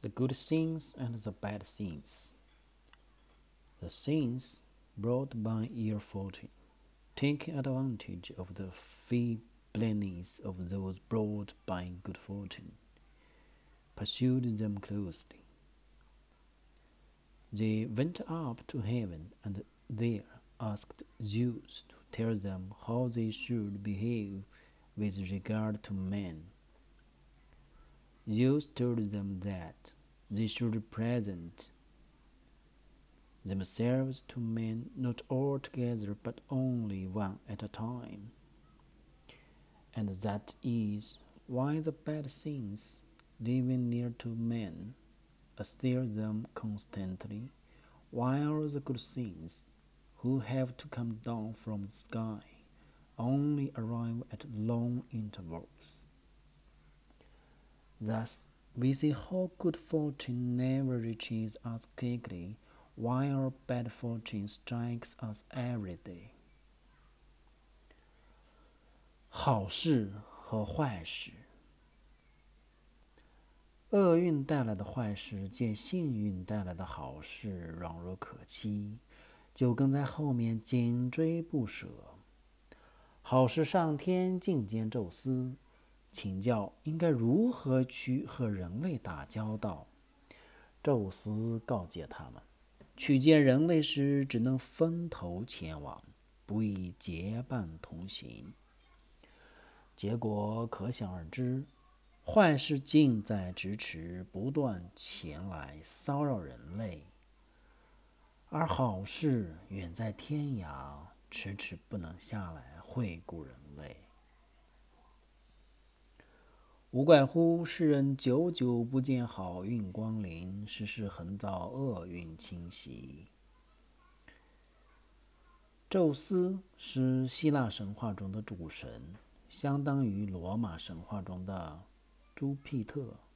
the good things and the bad things. The things brought by ill fortune, taking advantage of the feebleness of those brought by good fortune, pursued them closely. They went up to heaven and there asked Zeus to tell them how they should behave with regard to men. Zeus told them that they should present themselves to men not all together but only one at a time. And that is why the bad things living near to men assail them constantly, while the good things, who have to come down from the sky, only arrive at long intervals. Thus, we see how good fortune never reaches us quickly, while bad fortune strikes us every day. 好事和坏事，厄运带来的坏事见幸运带来的好事软弱可欺，就跟在后面紧追不舍。好事上天觐见宙斯，请教应该如何去和人类打交道。宙斯告诫他们，去见人类时只能分头前往，不宜结伴同行。结果可想而知，坏事近在咫尺，不断前来骚扰人类，而好事远在天涯，迟迟不能下来惠顾人类。无怪乎世人久久不见好运光临，时时横遭厄运侵袭。宙斯是希腊神话中的主神，相当于罗马神话中的朱庇特。